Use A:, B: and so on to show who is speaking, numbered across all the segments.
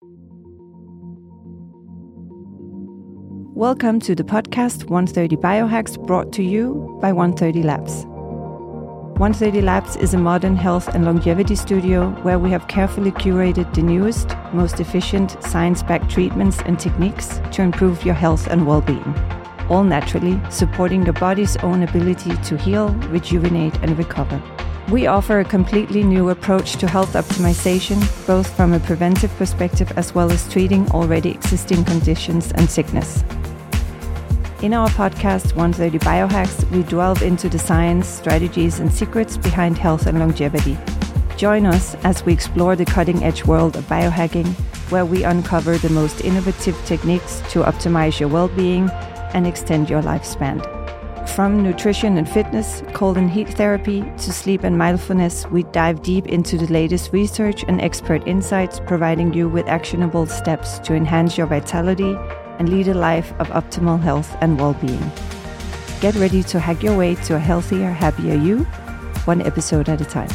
A: Welcome to the podcast 130 Biohacks, brought to you by 130 Labs. 130 Labs is a modern health and longevity studio where we have carefully curated the newest, most efficient, science-backed treatments and techniques to improve your health and well-being. All naturally, supporting your body's own ability to heal, rejuvenate, and recover. We offer a completely new approach to health optimization, both from a preventive perspective as well as treating already existing conditions and sickness. In our podcast, 130 Biohacks, we delve into the science, strategies, and secrets behind health and longevity. Join us as we explore the cutting-edge world of biohacking, where we uncover the most innovative techniques to optimize your well-being and extend your lifespan. From nutrition and fitness, cold and heat therapy, to sleep and mindfulness, we dive deep into the latest research and expert insights, providing you with actionable steps to enhance your vitality and lead a life of optimal health and well-being. Get ready to hack your way to a healthier, happier you, one episode at a time.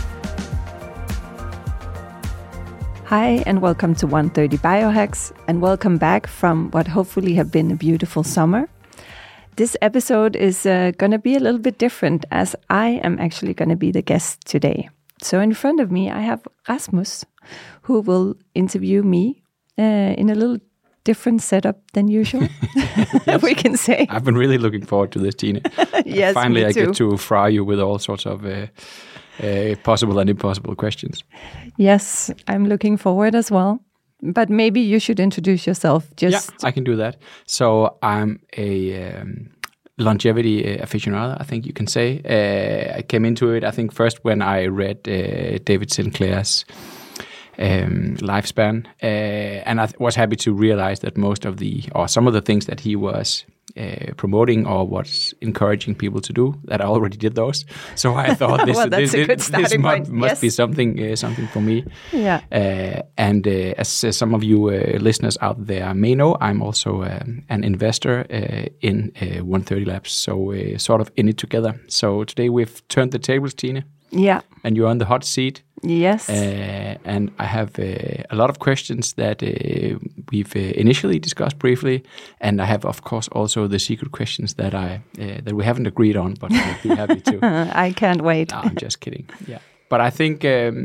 A: Hi, and welcome to 130 Biohacks, and welcome back from what hopefully have been a beautiful summer. This episode is going to be a little bit different, as I am actually going to be the guest today. So in front of me, I have Rasmus, who will interview me in a little different setup than usual,
B: yes.
A: We can say.
B: I've been really looking forward to this, Tine.
A: Yes,
B: Finally,
A: me too.
B: I get to fry you with all sorts of possible and impossible questions.
A: Yes, I'm looking forward as well. But maybe you should introduce yourself.
B: Yeah, I can do that. So I'm a longevity aficionado, I think you can say. I came into it, I think, first when I read David Sinclair's lifespan, and I was happy to realize that some of the things that he was promoting or was encouraging people to do, that I already did those. So I thought this must be something for me.
A: Yeah.
B: And as some of you listeners out there may know, I'm also an investor in 130 Labs, so sort of in it together. So today we've turned the tables, Tine.
A: Yeah.
B: And you're on the hot seat.
A: Yes.
B: And I have a lot of questions that we've initially discussed briefly, and I have, of course, also the secret questions that that we haven't agreed on, but I'd be happy to.
A: I can't wait.
B: No, I'm just kidding. Yeah, but I think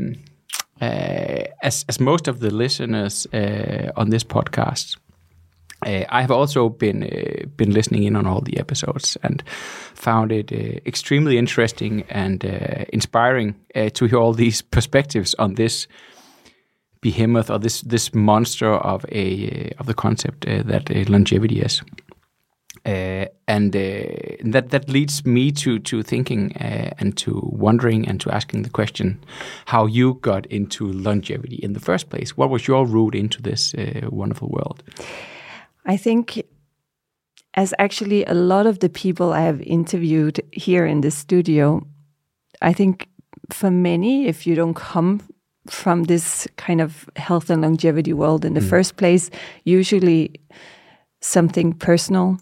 B: as most of the listeners on this podcast, I have also been listening in on all the episodes and found it extremely interesting and inspiring to hear all these perspectives on this behemoth or this monster of the concept that longevity is. And that leads me to thinking and to wondering and to asking the question how you got into longevity in the first place. What was your route into this wonderful world?
A: I think, as actually a lot of the people I have interviewed here in the studio, I think for many, if you don't come from this kind of health and longevity world in the first place, usually something personal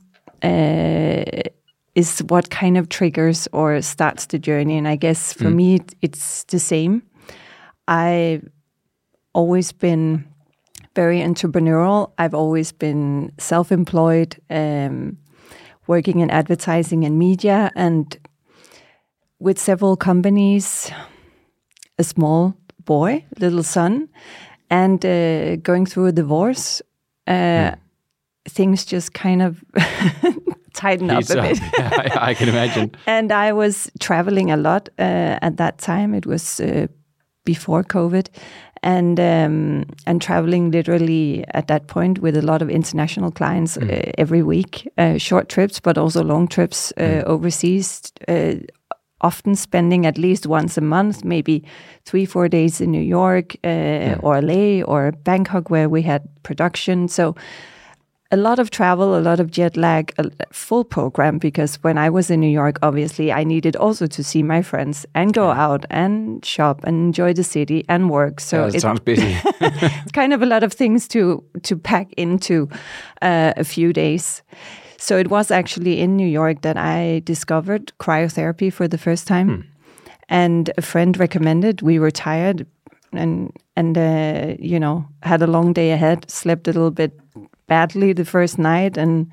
A: is what kind of triggers or starts the journey. And I guess for me, it's the same. I've always been very entrepreneurial. I've always been self-employed, working in advertising and media, and with several companies, a small boy, little son, and going through a divorce. Things just kind of tighten up a bit.
B: Yeah, I can imagine.
A: And I was traveling a lot at that time. It was before COVID. And traveling literally at that point with a lot of international clients every week, short trips, but also long trips overseas, often spending at least once a month, maybe 3-4 days in New York or LA or Bangkok, where we had production. So a lot of travel, a lot of jet lag, a full program, because when I was in New York, obviously I needed also to see my friends and go out and shop and enjoy the city and work. So
B: it sounds busy.
A: It's kind of a lot of things to pack into a few days. So it was actually in New York that I discovered cryotherapy for the first time. And a friend recommended. We were tired and you know, had a long day ahead, slept a little bit badly the first night, and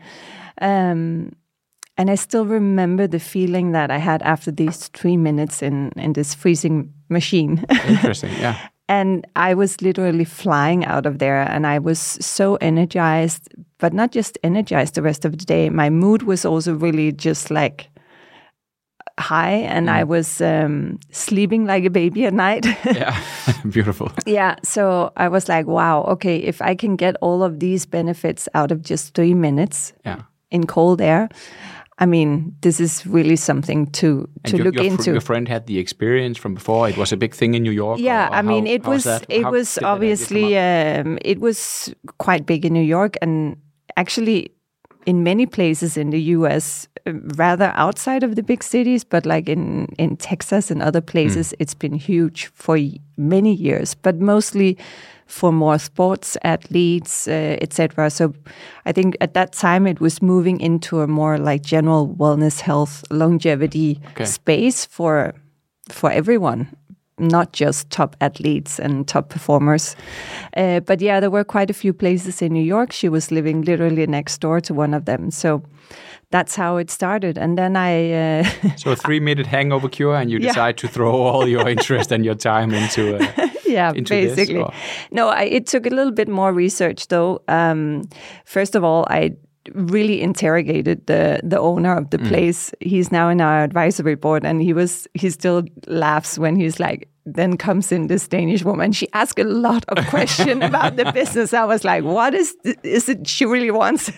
A: I still remember the feeling that I had after these 3 minutes in this freezing machine.
B: Interesting, yeah.
A: And I was literally flying out of there, and I was so energized, but not just energized the rest of the day. My mood was also really just like high, and I was sleeping like a baby at night.
B: Yeah, beautiful.
A: Yeah, so I was like, wow, okay, if I can get all of these benefits out of just 3 minutes in cold air, I mean, this is really something to look into.
B: Your friend had the experience from before. It was a big thing in New York.
A: Yeah, I mean, it was obviously it was quite big in New York, and actually in many places in the U.S., rather outside of the big cities, but like in Texas and other places, it's been huge for many years, but mostly for more sports athletes, etc. So I think at that time it was moving into a more like general wellness, health, longevity space for everyone, not just top athletes and top performers. But yeah, there were quite a few places in New York. She was living literally next door to one of them. So that's how it started. And then I...
B: So a 3-minute hangover cure, and you decide to throw all your interest and your time into into
A: basically.
B: This,
A: no, it took a little bit more research, though. First of all, I really interrogated the owner of the place. He's now in our advisory board, and he still laughs when he's like, then comes in this Danish woman. She asked a lot of questions about the business. I was like, what is it she really wants?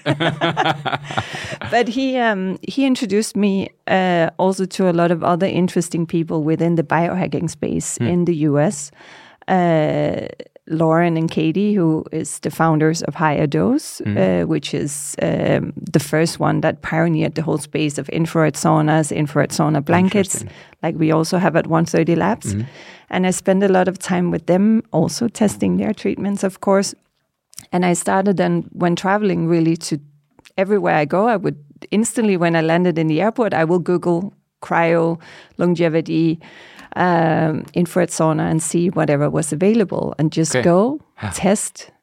A: But he introduced me also to a lot of other interesting people within the biohacking space in the US. Lauren and Katie, who is the founders of Higher Dose, which is the first one that pioneered the whole space of infrared saunas, infrared sauna blankets, like we also have at 130 Labs. And I spent a lot of time with them, also testing their treatments, of course. And I started then, when traveling, really to everywhere I go, I would instantly, when I landed in the airport, I will Google cryo, longevity, infrared sauna, and see whatever was available, and just go test.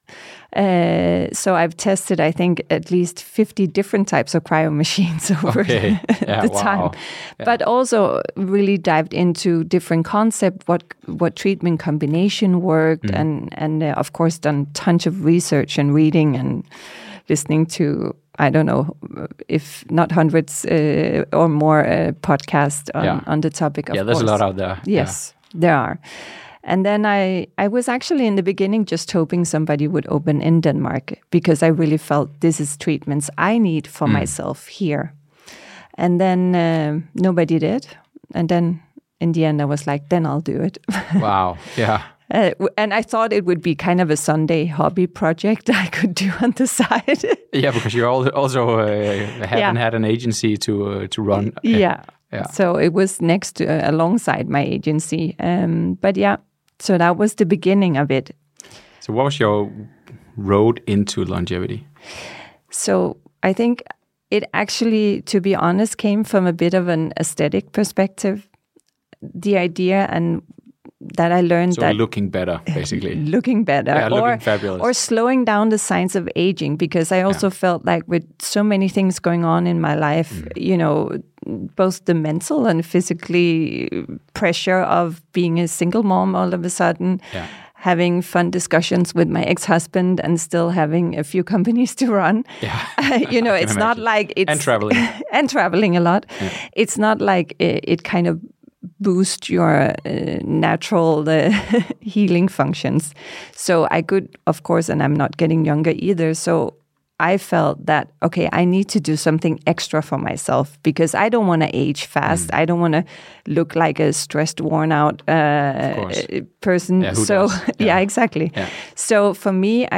A: So I've tested, I think, at least 50 different types of cryo machines over the time. Yeah. But also really dived into different concepts, what treatment combination worked, and of course done tons of research and reading and listening to, I don't know, if not hundreds or more podcasts on the topic of
B: there's a lot out there.
A: Yes, there are. And then I was actually in the beginning just hoping somebody would open in Denmark, because I really felt this is treatments I need for myself here. And then nobody did. And then in the end I was like, then I'll do it.
B: Wow, yeah.
A: And I thought it would be kind of a Sunday hobby project I could do on the side.
B: Yeah, because you also haven't had an agency to run.
A: Yeah. So it was alongside my agency. But yeah, so that was the beginning of it.
B: So what was your road into longevity?
A: So I think it actually, to be honest, came from a bit of an aesthetic perspective. The idea and that I learned that
B: looking better, basically.
A: Looking better.
B: Looking fabulous.
A: Or slowing down the signs of aging, because I also felt like with so many things going on in my life, you know, both the mental and physically pressure of being a single mom all of a sudden, having fun discussions with my ex-husband and still having a few companies to run. Yeah. You know, it's not like it's...
B: And traveling.
A: And traveling a lot. Yeah. It's not like it kind of boost your natural healing functions. So I could, of course, and I'm not getting younger either, so I felt that, okay, I need to do something extra for myself, because I don't want to age fast. I don't want to look like a stressed, worn out person.
B: Yeah, so
A: exactly. Yeah. So for me,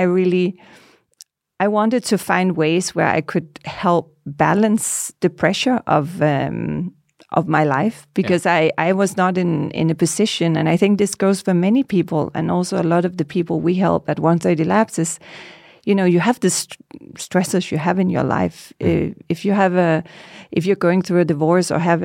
A: I wanted to find ways where I could help balance the pressure of my life, because I was not in a position, and I think this goes for many people, and also a lot of the people we help at 130 Labs is, you have the stresses you have in your life. If you're going through a divorce or have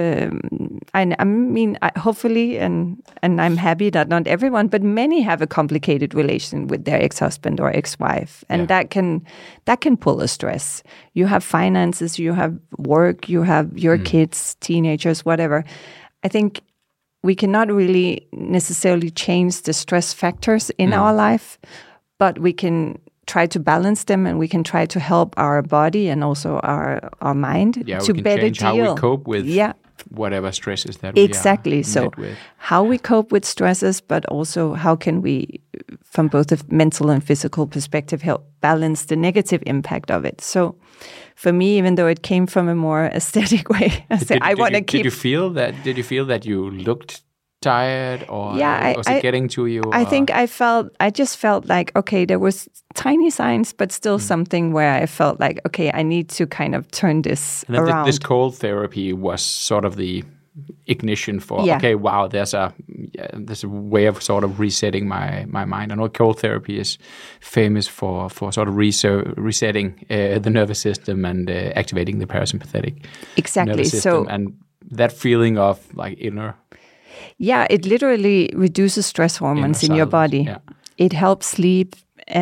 A: hopefully, and I'm happy that not everyone, but many have a complicated relation with their ex-husband or ex-wife, and that can pull a stress. You have finances, you have work, you have your kids, teenagers, whatever. I think we cannot really necessarily change the stress factors in our life, but we can try to balance them, and we can try to help our body and also our mind to
B: we can
A: better
B: change
A: deal.
B: how we cope with whatever stresses that
A: exactly.
B: we are
A: So
B: met with.
A: how we cope with stresses, but also how can we, from both a mental and physical perspective, help balance the negative impact of it. So for me, even though it came from a more aesthetic way, I want to keep.
B: Did you feel that you looked tired, or was it getting to you?
A: I think I just felt like, okay, there was tiny signs, but still something where I felt like, okay, I need to kind of turn this around.
B: This cold therapy was sort of the ignition for, okay, wow, there's a way of sort of resetting my mind. I know cold therapy is famous for sort of resetting the nervous system and activating the parasympathetic nervous system. So, and that feeling of like inner...
A: Yeah, it literally reduces stress hormones in your body. Yeah. It helps sleep.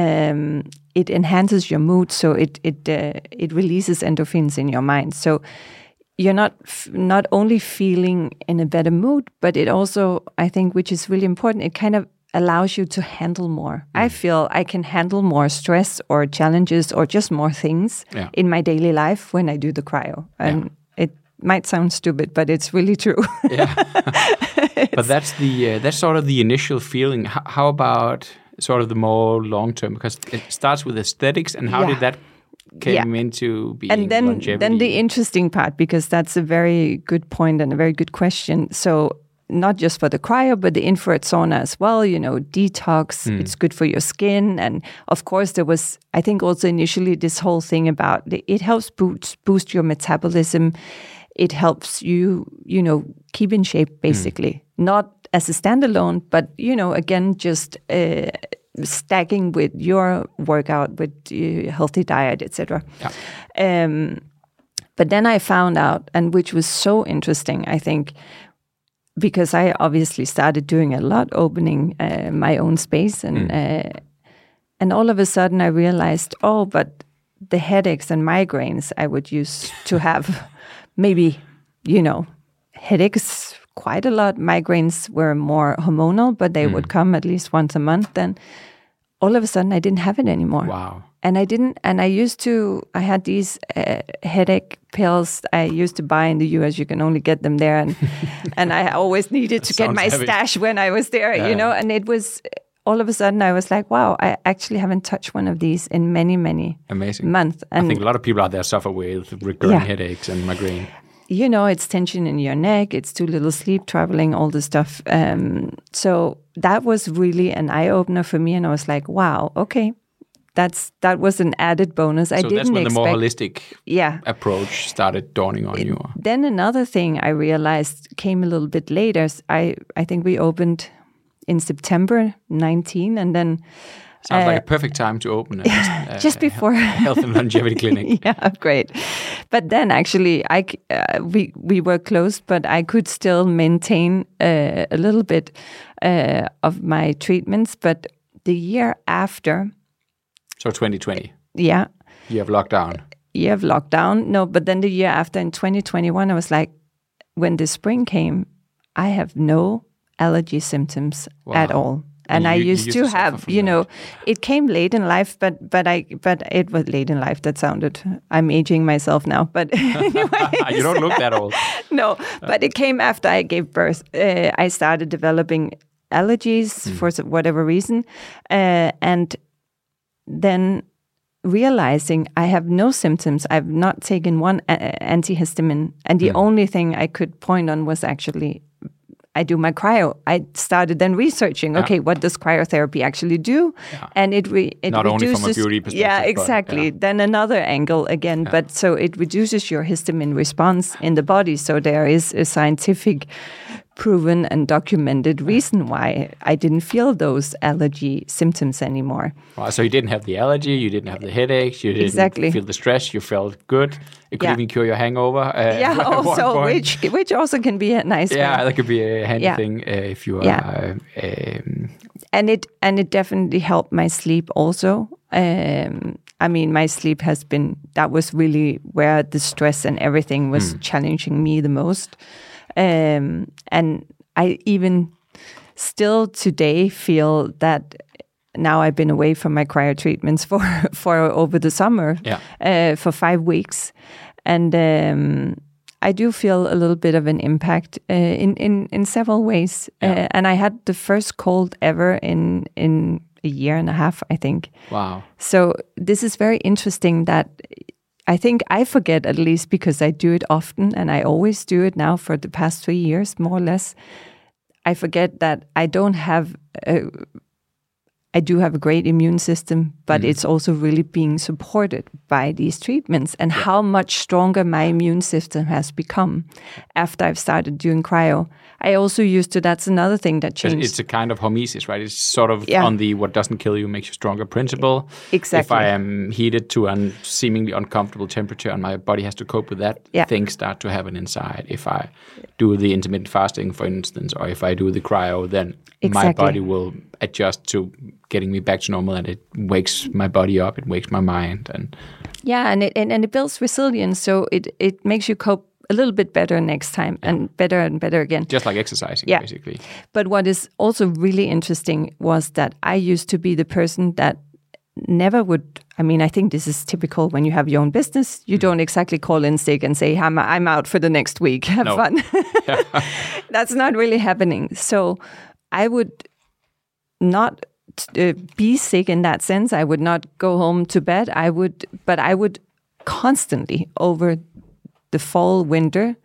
A: It enhances your mood, so it releases endorphins in your mind. So you're not only feeling in a better mood, but it also, I think, which is really important, it kind of allows you to handle more. I feel I can handle more stress or challenges or just more things in my daily life when I do the cryo. And it might sound stupid, but it's really true.
B: Yeah. But that's sort of the initial feeling. How about sort of the more long term? Because it starts with aesthetics, and how did that came into being
A: and then,
B: longevity?
A: Then the interesting part, because that's a very good point and a very good question. So not just for the cryo, but the infrared sauna as well, detox, it's good for your skin. And of course, there was, I think also initially this whole thing about it helps boost your metabolism. It helps you, keep in shape, basically. Not as a standalone, but, again, just stacking with your workout, with healthy diet, etc. Yeah. But then I found out, and which was so interesting, I think, because I obviously started doing a lot, opening my own space, and all of a sudden I realized, but the headaches and migraines I would use to have... Maybe, headaches quite a lot. Migraines were more hormonal, but they would come at least once a month. Then all of a sudden I didn't have it anymore.
B: Wow.
A: And I had these headache pills I used to buy in the US. You can only get them there. And I always needed to get my stash when I was there, and it was... All of a sudden, I was like, wow, I actually haven't touched one of these in many, many months. And
B: I think a lot of people out there suffer with recurring headaches and migraine.
A: It's tension in your neck, it's too little sleep, traveling, all this stuff. So that was really an eye-opener for me. And I was like, wow, okay, that was an added bonus.
B: So that's when the more holistic approach started dawning on you.
A: Then another thing I realized came a little bit later. I think we opened... in September 19, and then...
B: Sounds like a perfect time to open
A: just before
B: health and longevity clinic.
A: Yeah, great. But then actually, we were closed, but I could still maintain a little bit of my treatments. But the year after...
B: So 2020?
A: Yeah.
B: You have lockdown?
A: Year of lockdown. No, but then the year after, in 2021, I was like, when the spring came, I have no... allergy symptoms at all. And I used to have, it came late in life, but it was late in life. That sounded, I'm aging myself now, but anyway.
B: You don't look that old.
A: No, but it came after I gave birth. I started developing allergies for whatever reason. And then realizing I have no symptoms, I've not taken one antihistamine. And the only thing I could point on was actually I do my cryo. I started then researching, what does cryotherapy actually do? Yeah. And it
B: not
A: reduces,
B: only from a beauty perspective.
A: Yeah, exactly. But, Then another angle again. But so it reduces your histamine response in the body. So there is a scientific proven and documented reason why I didn't feel those allergy symptoms anymore.
B: Wow, so you didn't have the allergy, you didn't have the headaches, you didn't feel the stress, you felt good. It could even cure your hangover.
A: Also, which also can be a nice.
B: Yeah, that could be a handy thing if you are.
A: And it definitely helped my sleep also. I mean, my sleep that was really where the stress and everything was challenging me the most. And I even still today feel that now I've been away from my cryo treatments for over the summer for 5 weeks. And I do feel a little bit of an impact in several ways. And I had the first cold ever in a year and a half, I think.
B: Wow.
A: So this is very interesting that I think I forget, at least because I do it often, and I always do it now for the past 3 years, more or less. I forget that I do have a great immune system, but it's also really being supported by these treatments, and how much stronger my immune system has become after I've started doing cryo. I also used to, that's another thing that changed.
B: It's a kind of hormesis, right? It's sort of on the what doesn't kill you makes you stronger principle.
A: Exactly.
B: If I am heated to a seemingly uncomfortable temperature and my body has to cope with that, things start to happen inside. If I do the intermittent fasting, for instance, or if I do the cryo, then my body will adjust to getting me back to normal, and it wakes my body up, it wakes my mind. And
A: it builds resilience, so it makes you cope a little bit better next time and better again.
B: Just like exercising, basically.
A: But what is also really interesting was that I used to be the person that never would, I mean, I think this is typical when you have your own business. You don't exactly call in sick and say, I'm out for the next week. Have fun. That's not really happening. So I would not be sick in that sense. I would not go home to bed. I would constantly over the fall, winter,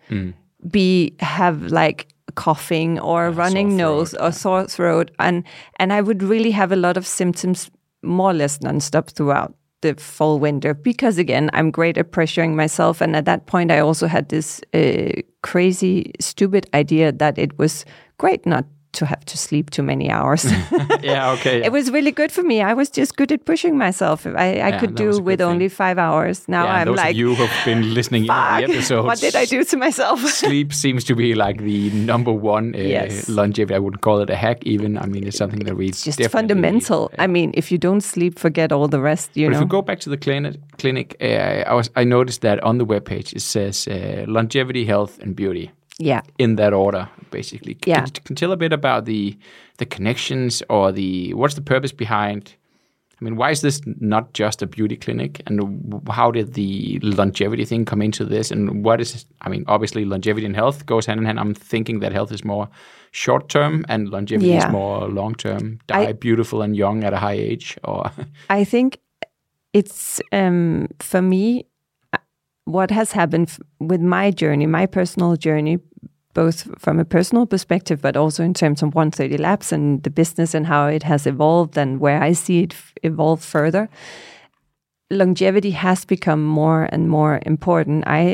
A: have like coughing or running nose or sore throat, and I would really have a lot of symptoms more or less nonstop throughout the fall, winter, because again, I'm great at pressuring myself, and at that point, I also had this crazy, stupid idea that it was great not to have to sleep too many hours. It was really good for me. I was just good at pushing myself. I could do with only 5 hours. Now I'm
B: those
A: like,
B: of you who've been listening in the episodes,
A: what did I do to myself?
B: Sleep seems to be like the number one longevity. I wouldn't call it a hack even. I mean, it's something that we
A: just fundamental. I mean, if you don't sleep, forget all the rest, you know.
B: If we go back to the clinic, I noticed that on the webpage it says longevity, health, and beauty.
A: Yeah.
B: In that order, basically. Can you tell a bit about the connections or what's the purpose behind? I mean, why is this not just a beauty clinic? And how did the longevity thing come into this? And what is, I mean, obviously longevity and health goes hand in hand. I'm thinking that health is more short term and longevity is more long term. Die beautiful and young at a high age, or
A: I think it's for me. What has happened with my journey, my personal journey, both from a personal perspective, but also in terms of 130 Labs and the business and how it has evolved and where I see it evolve further, longevity has become more and more important. I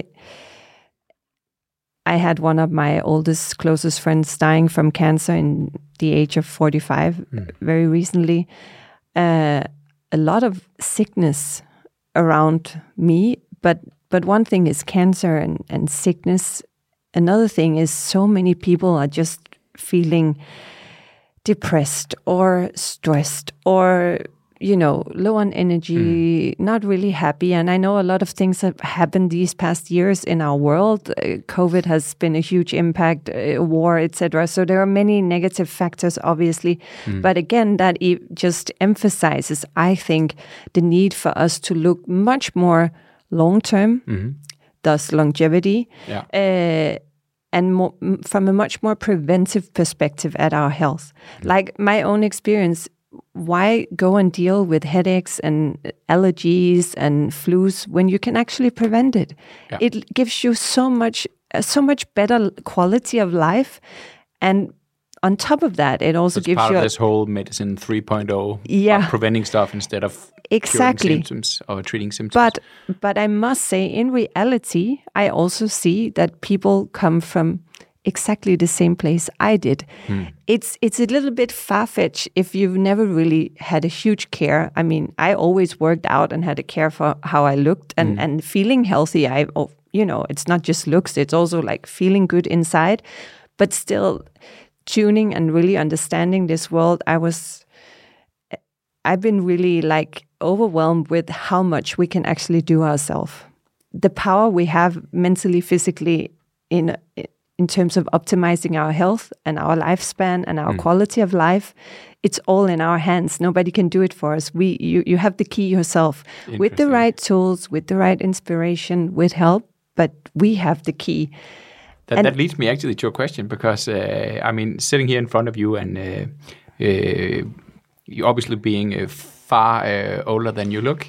A: had one of my oldest, closest friends dying from cancer in the age of 45 very recently. A lot of sickness around me, but one thing is cancer and sickness. Another thing is so many people are just feeling depressed or stressed or, you know, low on energy, not really happy. And I know a lot of things have happened these past years in our world. COVID has been a huge impact, war, etc. So there are many negative factors, obviously. But again, that just emphasizes, I think, the need for us to look much more long-term, thus longevity, and from a much more preventive perspective at our health. Like my own experience, why go and deal with headaches and allergies and flus when you can actually prevent it? Yeah. It gives you so much better quality of life, and on top of that, it also gives
B: part
A: you
B: of this whole medicine 3.0, preventing stuff instead of curing symptoms or treating symptoms.
A: But I must say, in reality, I also see that people come from exactly the same place I did. It's a little bit far-fetched if you've never really had a huge care. I mean, I always worked out and had a care for how I looked and feeling healthy. It's not just looks, it's also like feeling good inside, but still tuning and really understanding this world. I've been really like overwhelmed with how much we can actually do ourselves. The power we have mentally, physically in terms of optimizing our health and our lifespan and our quality of life, it's all in our hands. Nobody can do it for us. You have the key yourself with the right tools, with the right inspiration, with help, but we have the key.
B: That leads me actually to a question, because sitting here in front of you and you obviously being far older than you look,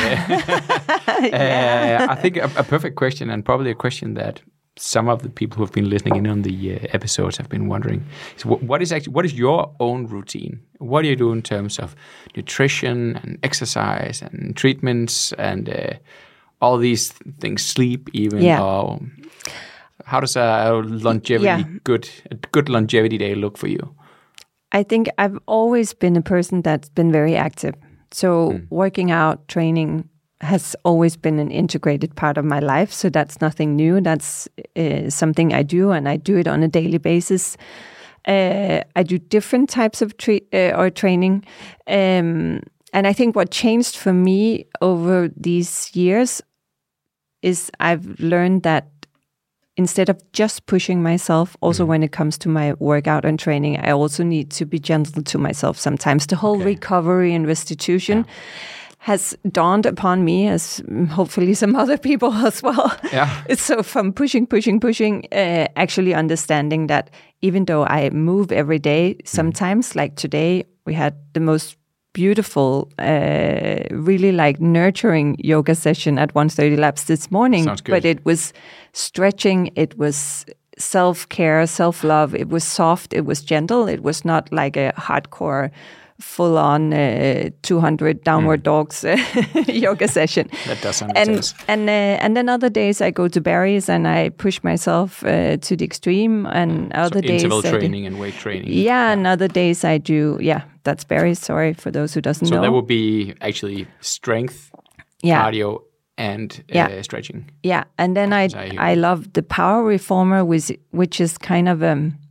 B: I think a perfect question, and probably a question that some of the people who have been listening in on the episodes have been wondering. So what is your own routine? What do you do in terms of nutrition and exercise and treatments and all these things, sleep even? Or how does a good longevity day look for you?
A: I think I've always been a person that's been very active. So working out, training has always been an integrated part of my life. So that's nothing new. That's something I do, and I do it on a daily basis. I do different types of training. And I think what changed for me over these years is I've learned that instead of just pushing myself, also when it comes to my workout and training, I also need to be gentle to myself sometimes. The whole recovery and restitution has dawned upon me, as hopefully some other people as well. So from pushing, actually understanding that even though I move every day, sometimes like today, we had the most beautiful, really like nurturing yoga session at 1:30 Labs this morning. But it was stretching, it was self-care, self-love, it was soft, it was gentle, it was not like a hardcore full-on 200 downward dogs yoga session.
B: That does sound intense.
A: And then other days I go to Barry's and I push myself to the extreme, and other days
B: interval training and weight training.
A: And other days I do, that's Barry's, sorry for those who doesn't know.
B: So that would be actually strength, cardio, and stretching.
A: Yeah, and then I love the Power Reformer, which is kind of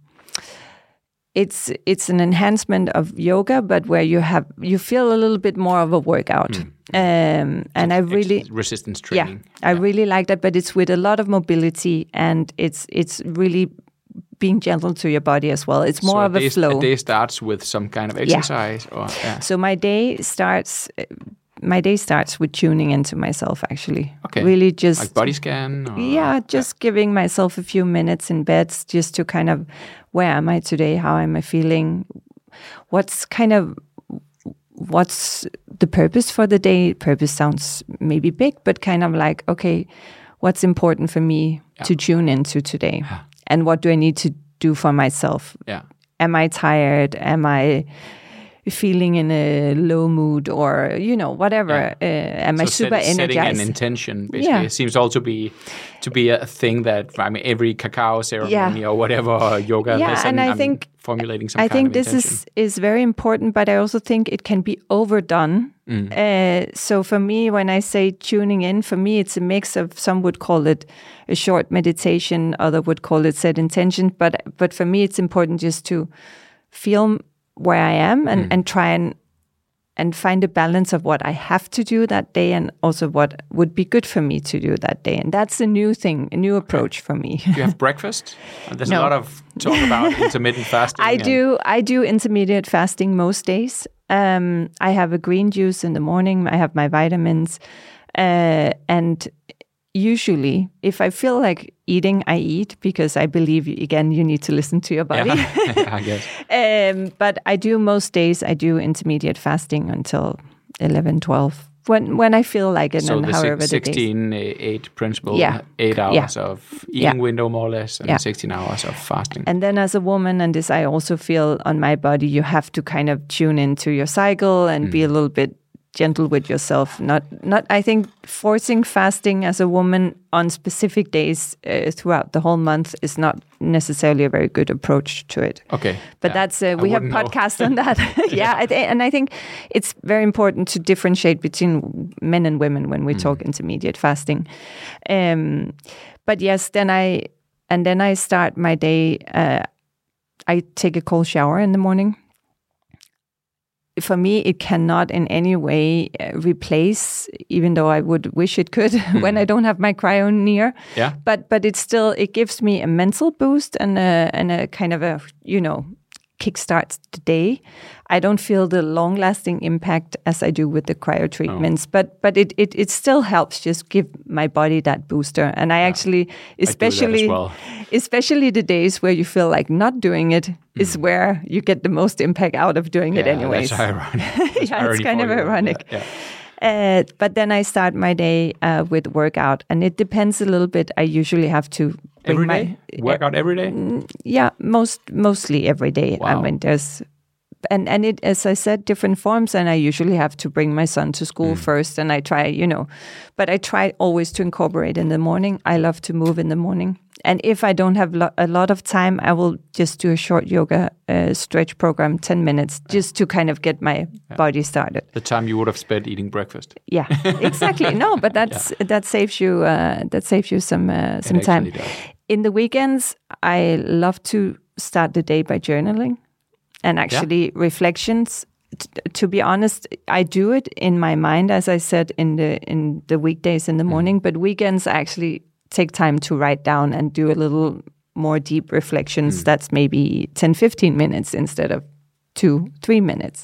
A: it's an enhancement of yoga, but where you feel a little bit more of a workout. And I really
B: resistance training.
A: I really like that, but it's with a lot of mobility, and it's really being gentle to your body as well. It's more of a flow.
B: A day starts with some kind of exercise,
A: So my day starts with tuning into myself, actually.
B: Okay.
A: Really just
B: like body scan?
A: Giving myself a few minutes in bed just to kind of, where am I today? How am I feeling? What's the purpose for the day? Purpose sounds maybe big, but kind of like, okay, what's important for me to tune into today? And what do I need to do for myself? Am I tired? Am I feeling in a low mood, or whatever? Am I super energized?
B: Setting an intention, basically. It seems also to be a thing that, every cacao ceremony or whatever, or yoga lesson,
A: and I think
B: formulating some kind of intention.
A: This is very important, but I also think it can be overdone. So for me, when I say tuning in, for me it's a mix of, some would call it a short meditation, other would call it set intention, but for me it's important just to feel where I am and try and find a balance of what I have to do that day, and also what would be good for me to do that day. And that's a new thing, a new approach for me.
B: Do you have breakfast? There's a lot of talk about intermittent fasting.
A: I do intermediate fasting most days. I have a green juice in the morning. I have my vitamins. And usually, if I feel like eating, I eat, because I believe, again, you need to listen to your body.
B: I guess.
A: But I do most days, I do intermediate fasting until 11, 12, when I feel like it, and however the days.
B: 16-8 principle, 8 hours of eating window more or less, and 16 hours of fasting.
A: And then as a woman, and this I also feel on my body, you have to kind of tune into your cycle and be a little bit gentle with yourself. Not. I think forcing fasting as a woman on specific days throughout the whole month is not necessarily a very good approach to it.
B: Okay,
A: but that's we have podcasts on that. Yeah, and I think it's very important to differentiate between men and women when we talk intermediate fasting. But yes, then I start my day. I take a cold shower in the morning. For me, it cannot in any way replace, even though I would wish it could, when I don't have my cryo near.
B: Yeah.
A: But it gives me a mental boost and a kind of a, kickstarts the day. I don't feel the long-lasting impact as I do with the cryo treatments, but it still helps just give my body that booster. And I actually, especially the days where you feel like not doing it is where you get the most impact out of doing it anyways.
B: That's ironic.
A: It's kind of ironic.
B: Yeah.
A: But then I start my day with workout, and it depends a little bit. I usually have to
B: every day? Workout every day?
A: Yeah, mostly every day.
B: Wow.
A: I mean, there's and it, as I said, different forms, and I usually have to bring my son to school first, and I try, but I try always to incorporate in the morning. I love to move in the morning. And if I don't have a lot of time, I will just do a short yoga stretch program, 10 minutes, just to kind of get my body started.
B: The time you would have spent eating breakfast.
A: Yeah, exactly. No, but that saves you some time.
B: Does.
A: In the weekends, I love to start the day by journaling and actually reflections. To be honest, I do it in my mind, as I said, in the weekdays in the morning, but weekends I actually take time to write down and do a little more deep reflections. That's maybe 10-15 minutes instead of 2-3 minutes.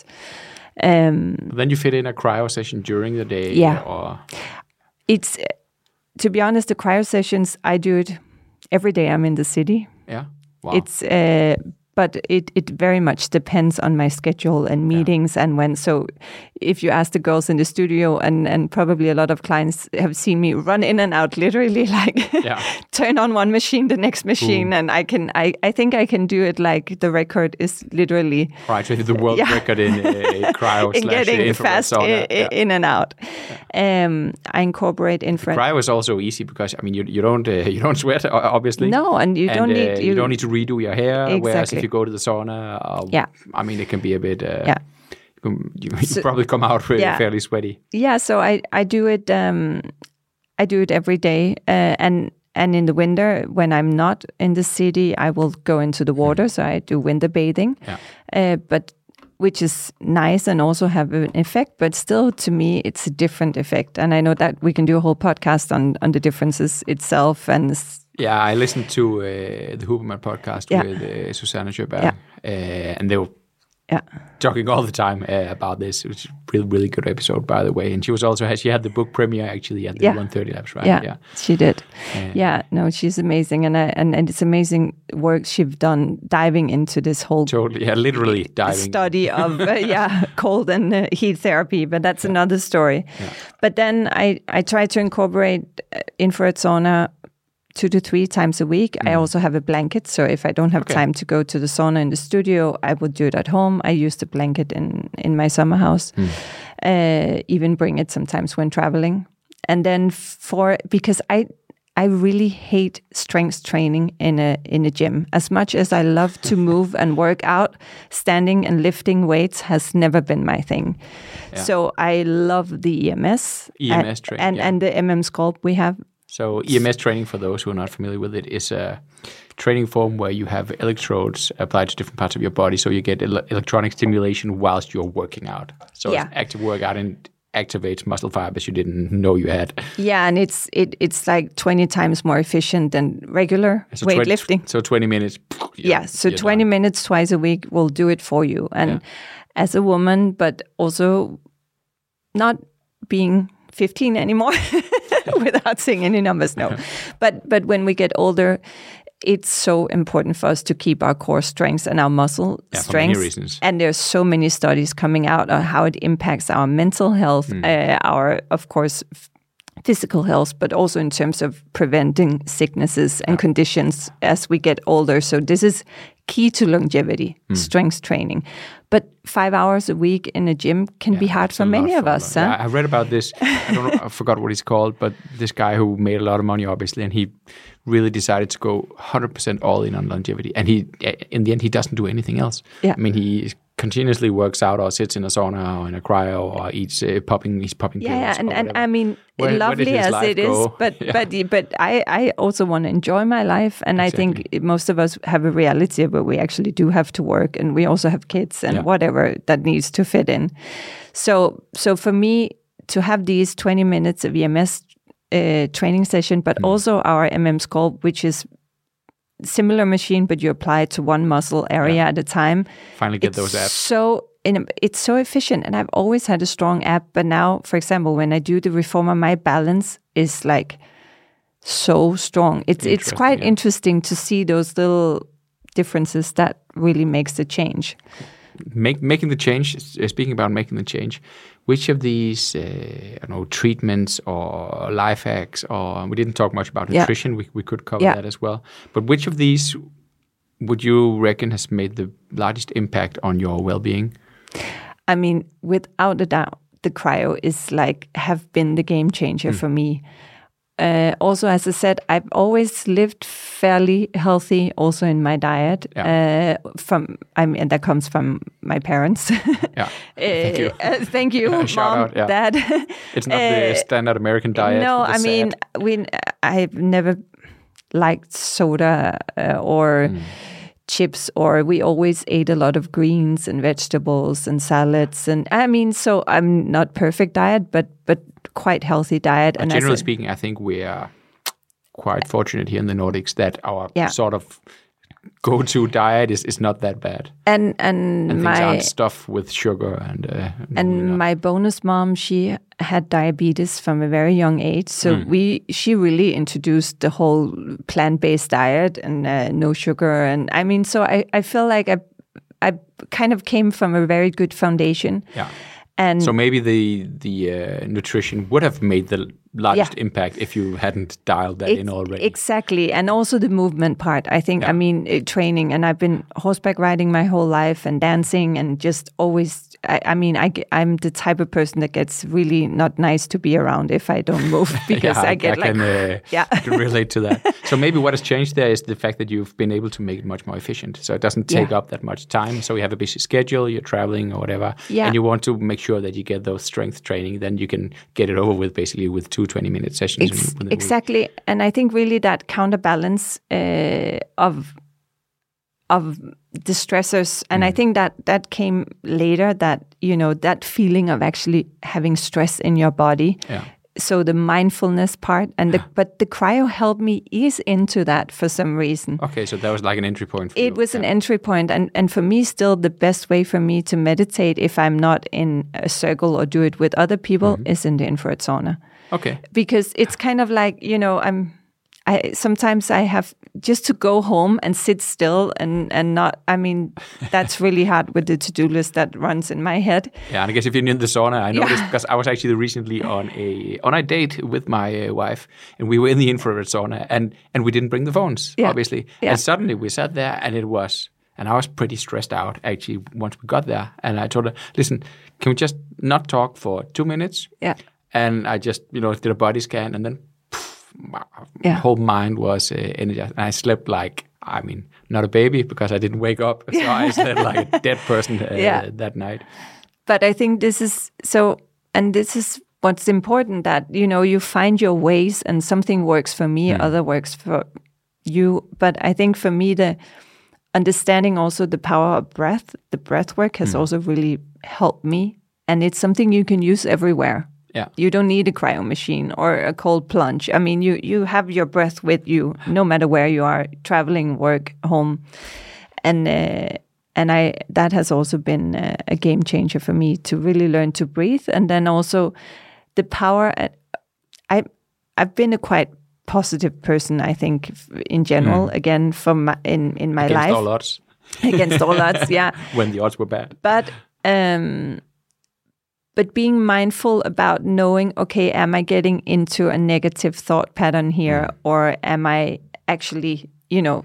B: Then you fit in a cryo session during the day?
A: Yeah.
B: Or...
A: It's, to be honest, the cryo sessions, I do it every day I'm in the city.
B: Yeah. Wow.
A: It's but it very much depends on my schedule and meetings and when. So if you ask the girls in the studio, and probably a lot of clients have seen me run in and out, literally like turn on one machine, the next machine, and I think I can do it. Like the record is literally
B: the world record in cryo
A: in getting fast
B: sauna.
A: In and out. I incorporate infrared.
B: Cryo is also easy because you don't sweat obviously.
A: No, and you don't need
B: to redo your hair.
A: Exactly.
B: Whereas if you go to the sauna, I mean it can be a bit. You probably come out fairly sweaty.
A: Yeah, so I do it. I do it every day, and in the winter when I'm not in the city, I will go into the water. So I do winter bathing, but which is nice and also have an effect. But still, to me, it's a different effect. And I know that we can do a whole podcast on the differences itself and.
B: Yeah, I listened to the Huberman podcast with Susanne Sjöberg, and they were talking all the time about this. It was a really, really good episode, by the way. And she had the book premiere actually at the 130 Labs, right?
A: Yeah, she did. No, she's amazing, and it's amazing work she's done diving into this whole
B: literally diving
A: study of cold and heat therapy. But that's another story. Yeah. But then I try to incorporate infrared sauna 2 to 3 times a week. I also have a blanket, so if I don't have time to go to the sauna in the studio, I would do it at home. I use the blanket in my summer house. Even bring it sometimes when traveling. And then because I really hate strength training in a gym. As much as I love to move and work out, standing and lifting weights has never been my thing. Yeah. So I love the EMS
B: training
A: and the Sculpt we have.
B: So EMS training, for those who are not familiar with it, is a training form where you have electrodes applied to different parts of your body, so you get electronic stimulation whilst you're working out. So it's active workout and activates muscle fibers you didn't know you had. Yeah, and it's like 20 times more efficient than regular weightlifting. So 20 minutes. So 20 minutes twice a week will do it for you. And as a woman, but also not being 15 anymore without saying any numbers, no. But when we get older, it's so important for us to keep our core strengths and our muscle strength. For many reasons. And there's so many studies coming out on how it impacts our mental health, our, of course, physical health, but also in terms of preventing sicknesses and conditions as we get older. So this is
A: key to longevity, strength training. But 5 hours a week in a gym can be hard for many of us.
B: Yeah, I read about this. I don't know, I forgot what he's called, but this guy who made a lot of money, obviously, and he really decided to go 100% all in on longevity. And he, in the end, he doesn't do anything else.
A: Yeah.
B: I mean, he continuously works out or sits in a sauna or in a cryo or eats popping pills.
A: Yeah, and I mean, lovely as it is, but I also want to enjoy my life, and I think most of us have a reality where we actually do have to work, and we also have kids and whatever that needs to fit in. So for me to have these 20 minutes of EMS training session, but also our MM Sculpt, which is similar machine, but you apply it to one muscle area at a time.
B: Finally get those apps.
A: It's so efficient, and I've always had a strong app, but now, for example, when I do the reformer, my balance is like so strong. It's quite interesting to see those little differences that really makes the change.
B: Making the change, speaking about making the change, which of these treatments or life hacks, or we didn't talk much about nutrition, we could cover that as well, but which of these would you reckon has made the largest impact on your well-being?
A: I mean, without a doubt, the cryo is have been the game changer for me. Also, as I said, I've always lived fairly healthy, also in my diet. And that comes from my parents.
B: Thank you.
A: Thank you, Mom, Dad.
B: It's not the standard American diet.
A: No, I mean, I've never liked soda or chips, or we always ate a lot of greens and vegetables and salads. And I mean, so I'm not perfect diet, but quite healthy diet.
B: And generally speaking, I think we are quite fortunate here in the Nordics that our sort of go-to diet is not that bad. And things aren't stuffed with sugar and
A: my bonus mom, she had diabetes from a very young age, so she really introduced the whole plant-based diet and no sugar. And I mean, so I feel like I kind of came from a very good foundation.
B: Yeah. And so maybe the nutrition would have made the largest impact if you hadn't dialed that in already.
A: Exactly. And also the movement part. I think, I mean, training, and I've been horseback riding my whole life and dancing and just always, I'm the type of person that gets really not nice to be around if I don't move, because I can
B: relate to that. So maybe what has changed there is the fact that you've been able to make it much more efficient. So it doesn't take up that much time. So you have a busy schedule, you're traveling or whatever, and you want to make sure that you get those strength training, then you can get it over with basically with 2 20-minute sessions.
A: Exactly. And I think really that counterbalance of the stressors, and I think that came later, that, that feeling of actually having stress in your body. Yeah. So the mindfulness part, but the cryo helped me ease into that for some reason.
B: Okay, so that was like an entry point for you.
A: It was an entry point, and for me still the best way for me to meditate if I'm not in a circle or do it with other people is in the infrared sauna.
B: Okay.
A: Because it's kind of like, sometimes I have just to go home and sit still and not, I mean, that's really hard with the to-do list that runs in my head.
B: Yeah, and I guess if you're in the sauna, I know this because I was actually recently on a date with my wife, and we were in the infrared sauna, and we didn't bring the phones, obviously. Yeah. And suddenly we sat there, and I was pretty stressed out actually once we got there. And I told her, listen, can we just not talk for 2 minutes? Yeah. And I just, did a body scan, and then my whole mind was energized. And I slept not a baby, because I didn't wake up. So I slept like a dead person that night.
A: But I think this is so, and this is what's important, that, you find your ways, and something works for me, other works for you. But I think for me, the understanding also the power of breath, the breath work has also really helped me. And it's something you can use everywhere. Yeah. You don't need a cryo machine or a cold plunge. I mean, you have your breath with you no matter where you are, traveling, work, home. And that has also been a game changer for me, to really learn to breathe. And then also the power. I've been a quite positive person, I think, in general, again, in my life.
B: Against all odds.
A: Against all odds, yeah.
B: When the odds were bad.
A: But being mindful about knowing, okay, am I getting into a negative thought pattern here, or am I actually,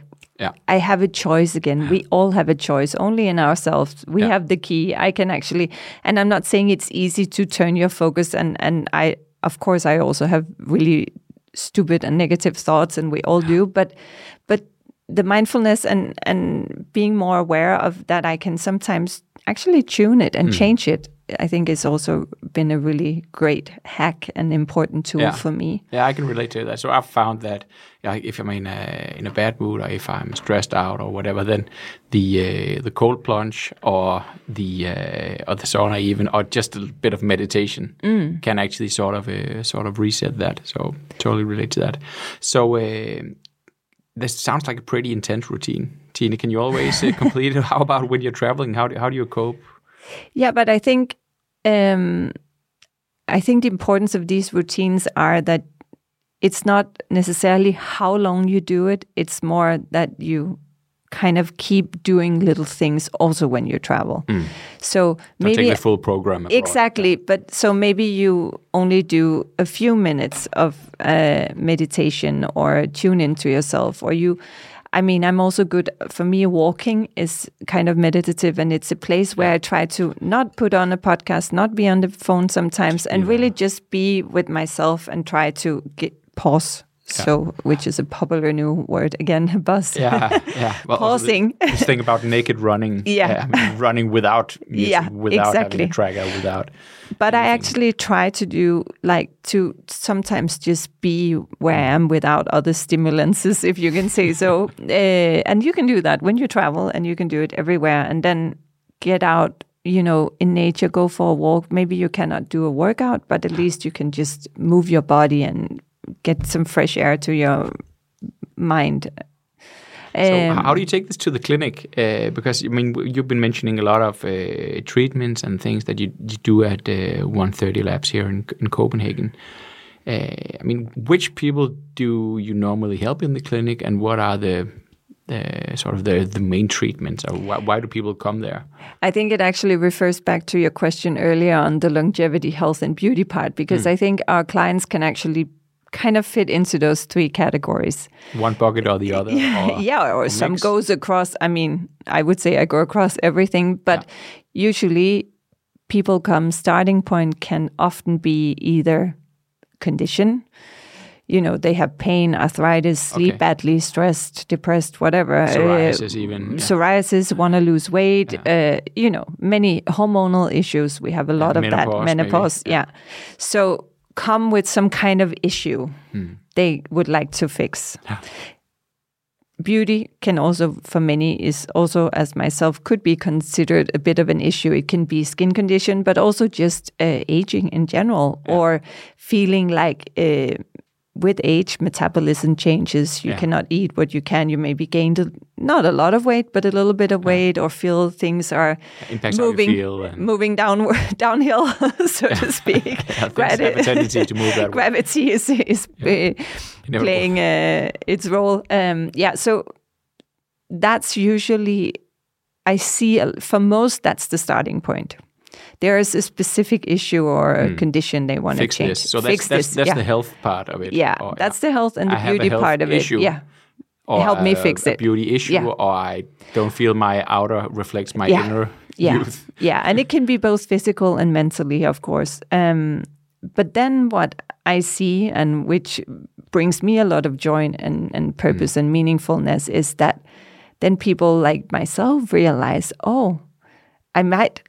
A: I have a choice again. We all have a choice, only in ourselves. We have the key. I can actually, and I'm not saying it's easy to turn your focus. And I, of course, I also have really stupid and negative thoughts, and we all do. But the mindfulness and being more aware of that, I can sometimes actually tune it and change it. I think it's also been a really great hack and important tool for me.
B: Yeah, I can relate to that. So I've found that if I'm in a bad mood, or if I'm stressed out or whatever, then the cold plunge or the sauna even, or just a bit of meditation can actually sort of reset that. So totally relate to that. So this sounds like a pretty intense routine. Tine, can you always complete it? How about when you're traveling? How do you cope?
A: Yeah, but I think the importance of these routines are that it's not necessarily how long you do it. It's more that you kind of keep doing little things also when you travel. So maybe
B: take the full program abroad.
A: Exactly, but so maybe you only do a few minutes of meditation or tune into yourself, or I'm also good. For me, walking is kind of meditative, and it's a place where I try to not put on a podcast, not be on the phone sometimes, and really just be with myself and try to pause. So, which is a popular new word again, buzz.
B: Yeah. Well,
A: pausing.
B: This thing about naked running. Running without music, without having a tracker, without.
A: But I actually try to do to sometimes just be where I am without other stimulants, if you can say so. And you can do that when you travel, and you can do it everywhere. And then get out, in nature, go for a walk. Maybe you cannot do a workout, but at least you can just move your body and get some fresh air to your mind.
B: So how do you take this to the clinic? Because, you've been mentioning a lot of treatments and things that you do at 130 Labs here in Copenhagen. Which people do you normally help in the clinic, and what are the main treatments, or why do people come there?
A: I think it actually refers back to your question earlier on the longevity, health, and beauty part, because I think our clients can actually kind of fit into those three categories.
B: One bucket or the other?
A: Or some goes across. I would say I go across everything, but usually people starting point can often be either condition, they have pain, arthritis, sleep badly, stressed, depressed, whatever.
B: Psoriasis even.
A: Psoriasis, want to lose weight, many hormonal issues. We have a lot of that. Menopause, So come with some kind of issue they would like to fix. Beauty can also, for many, is also, as myself, could be considered a bit of an issue. It can be skin condition, but also just aging in general, or feeling like with age, metabolism changes. You cannot eat what you can. You maybe gained not a lot of weight, but a little bit of weight, or feel things are moving downhill, so to speak.
B: Have a tendency to move that way.
A: Gravity is playing its role. So that's usually, I see, for most, that's the starting point. There is a specific issue or a condition they want to change.
B: This. So that's the health part of it.
A: Yeah, that's the health and the beauty part of
B: issue,
A: it. Yeah,
B: or
A: help me fix it.
B: A beauty issue, or I don't feel my outer reflects my inner youth.
A: Yeah, and it can be both physical and mentally, of course. But then what I see, and which brings me a lot of joy and purpose and meaningfulness, is that then people like myself realize, I might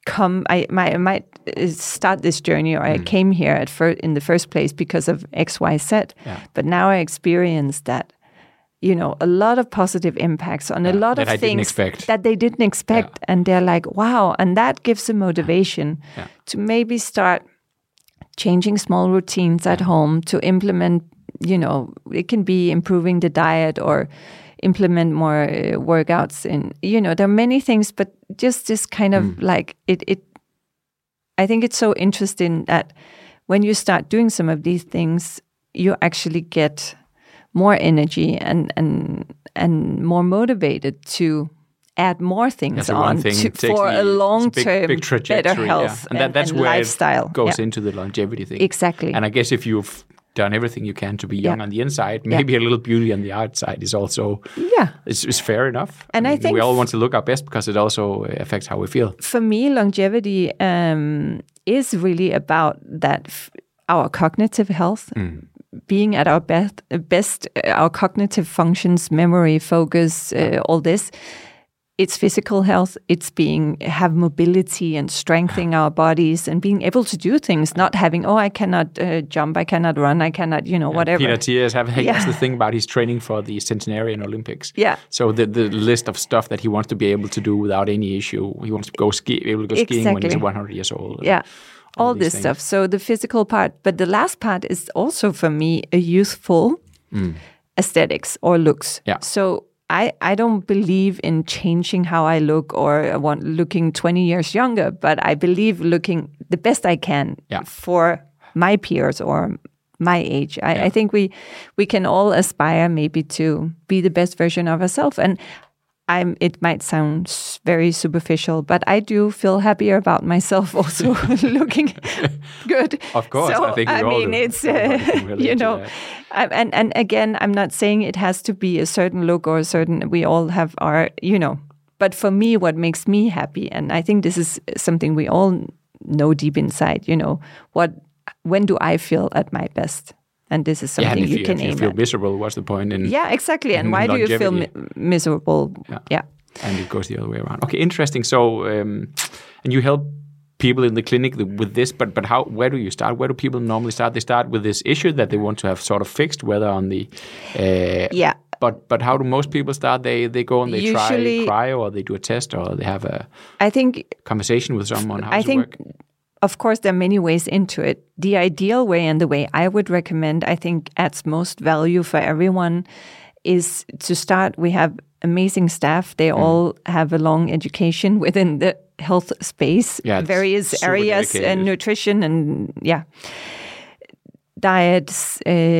A: start this journey, or I came here in the first place because of X, Y, Z. But now I experience that, a lot of positive impacts on a lot of things that they didn't expect. And they're like, wow. And that gives a motivation to maybe start changing small routines at home, to implement, it can be improving the diet, or implement more workouts. And, there are many things, but just this kind of I think it's so interesting that when you start doing some of these things, you actually get more energy and more motivated to add more things on for a long-term better health and
B: that's where
A: lifestyle.
B: It goes into the longevity thing.
A: Exactly.
B: And I guess if you've done everything you can to be young on the inside. Maybe a little beauty on the outside is also it's fair enough.
A: And I think
B: we all want to look our best because it also affects how we feel.
A: For me, longevity is really about that our cognitive health. Being at our best, our cognitive functions, memory, focus, all this. It's physical health. It's have mobility and strengthening our bodies and being able to do things. Not having I cannot jump, I cannot run, I cannot whatever.
B: Peter Thiel has the thing about he's training for the centenarian Olympics.
A: Yeah.
B: So the list of stuff that he wants to be able to do without any issue. He wants to be able to go skiing when he's 100 years old.
A: Yeah. All this stuff. So the physical part, but the last part is also for me a youthful aesthetics or looks.
B: Yeah.
A: So I don't believe in changing how I look or looking 20 years younger, but I believe looking the best I can for my peers or my age. I think we can all aspire maybe to be the best version of ourselves. And it might sound very superficial, but I do feel happier about myself also looking good.
B: Of course,
A: so,
B: I think we all do.
A: It's and again, I'm not saying it has to be a certain look or a certain. We all have our, But for me, what makes me happy, and I think this is something we all know deep inside. When do I feel at my best? And this is something you can aim at.
B: If you feel miserable, what's the point in
A: exactly. And why do you feel miserable? Yeah.
B: And it goes the other way around. Okay, interesting. So, and you help people in the clinic with this, but where do you start? Where do people normally start? They start with this issue that they want to have sort of fixed, whether on the... But how do most people start? They go and they cry, or they do a test, or they have a conversation with someone. How does it work?
A: Of course, there are many ways into it. The ideal way and the way I would recommend, I think adds most value for everyone, is to start. We have amazing staff. They all have a long education within the health space, various areas,
B: dedicated.
A: And nutrition and diets.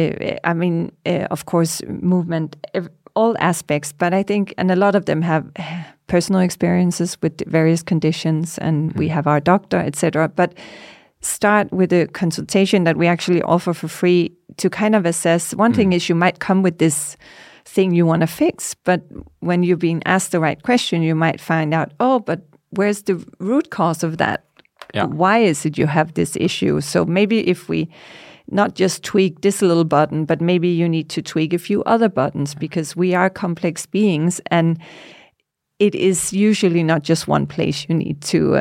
A: Of course, movement, all aspects. But I think, and a lot of them have personal experiences with various conditions, and we have our doctor, etc. But start with a consultation that we actually offer for free to kind of assess. One thing is you might come with this thing you want to fix, but when you're being asked the right question, you might find out, but where's the root cause of that? Yeah. Why is it you have this issue? So maybe if we not just tweak this little button, but maybe you need to tweak a few other buttons, because we are complex beings, and it is usually not just one place you need to.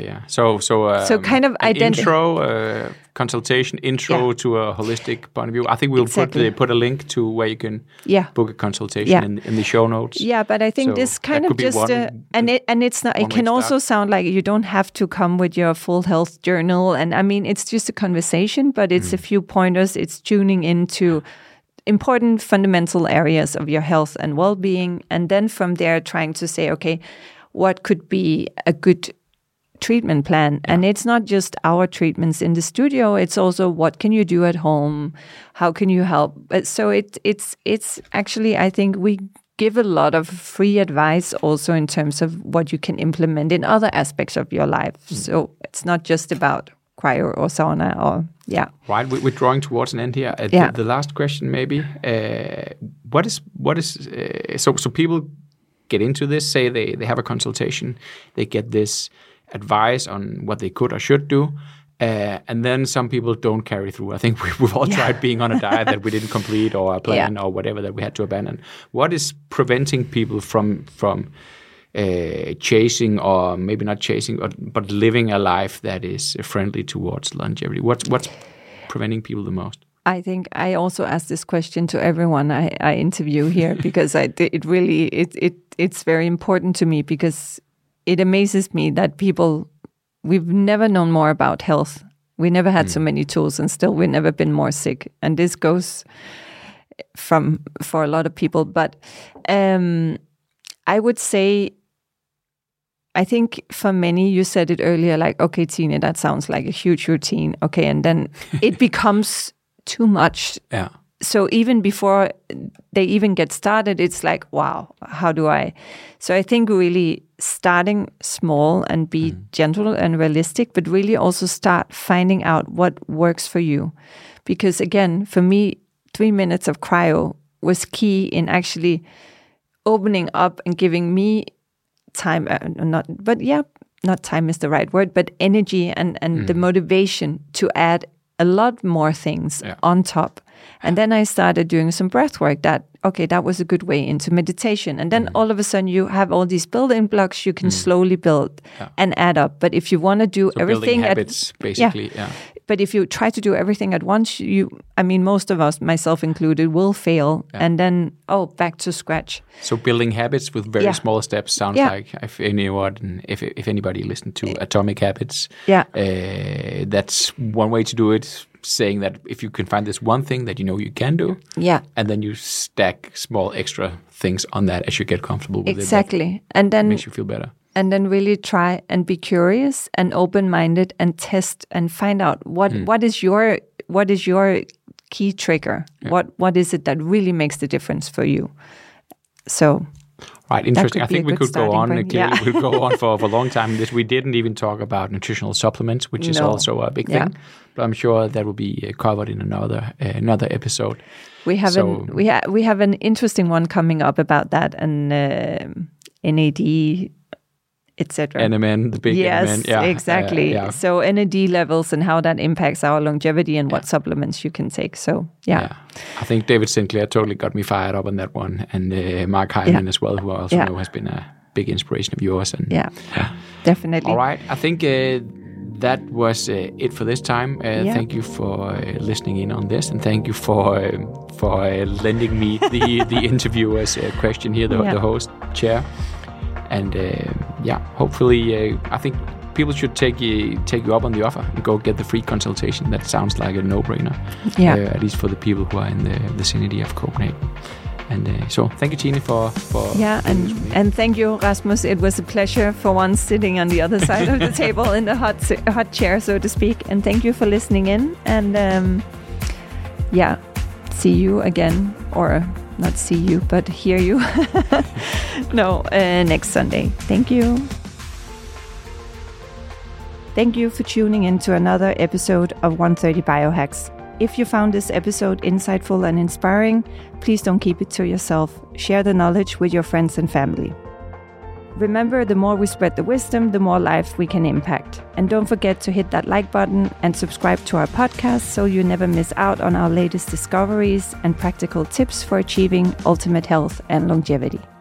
B: So
A: kind of
B: intro consultation, to a holistic point of view. I think we'll put a link to where you can book a consultation in the show notes.
A: Yeah, but I think this kind of just and it's not. It can also sound like you don't have to come with your full health journal, and I mean it's just a conversation, but it's a few pointers. It's tuning into important fundamental areas of your health and well-being, and then from there trying to say, okay, what could be a good treatment plan? And it's not just our treatments in the studio, it's also what can you do at home, how can you help? So it's actually, I think we give a lot of free advice also in terms of what you can implement in other aspects of your life. So it's not just about cryo or sauna or
B: Right, we're drawing towards an end here. The last question, maybe. What is so people get into this, say they have a consultation, they get this advice on what they could or should do, and then some people don't carry through. I think we've all tried being on a diet that we didn't complete, or a plan or whatever that we had to abandon. What is preventing people from chasing, or maybe not chasing, but living a life that is friendly towards longevity? What's preventing people the most?
A: I think I also ask this question to everyone I interview here, because it's very important to me, because it amazes me that we've never known more about health. We never had so many tools, and still we've never been more sick. And this goes for a lot of people. But I would say, I think for many, you said it earlier, like, okay, Tine, that sounds like a huge routine. Okay, and then it becomes too much.
B: Yeah.
A: So even before they even get started, it's like, wow, how do I? So I think really starting small and be gentle and realistic, but really also start finding out what works for you. Because again, for me, 3 minutes of cryo was key in actually opening up and giving me time, not time is the right word, but energy and the motivation to add a lot more things on top. And then I started doing some breath work that was a good way into meditation. And then all of a sudden you have all these building blocks you can slowly build and add up. But if you want to do everything
B: habits, basically,
A: But if you try to do everything at once, most of us, myself included, will fail. And then, back to scratch.
B: So building habits with very small steps sounds like if anybody listened to Atomic Habits, that's one way to do it. Saying that if you can find this one thing that you can do, and then you stack small extra things on that as you get comfortable with it.
A: Exactly. And then
B: makes you feel better.
A: And then really try and be curious and open-minded and test and find out what is your key trigger? Yeah. What is it that really makes the difference for you? So
B: right, interesting. I think we could go on. Clearly, we could go on for a long time. We didn't even talk about nutritional supplements, which is also a big thing. But I'm sure that will be covered in another episode.
A: We have an interesting one coming up about that and NAD, etc.
B: NMN, the big NMN.
A: Yes, exactly. So NAD levels and how that impacts our longevity and what supplements you can take. So,
B: I think David Sinclair totally got me fired up on that one. And Mark Hyman as well, who I also know has been a big inspiration of yours. And
A: definitely.
B: All right. I think that was it for this time. Thank you for listening in on this. And thank you for lending me the interviewer's question here, the host chair. And hopefully, I think people should take you up on the offer and go get the free consultation. That sounds like a no-brainer, at least for the people who are in the vicinity of Copenhagen. And so, thank you, Tine, for
A: and thank you, Rasmus. It was a pleasure for once sitting on the other side of the table in the hot chair, so to speak. And thank you for listening in. And see you again, or not see you, but hear you. Next Sunday. Thank you. Thank you for tuning in to another episode of 130 Biohacks. If you found this episode insightful and inspiring, please don't keep it to yourself. Share the knowledge with your friends and family. Remember, the more we spread the wisdom, the more life we can impact. And don't forget to hit that like button and subscribe to our podcast so you never miss out on our latest discoveries and practical tips for achieving ultimate health and longevity.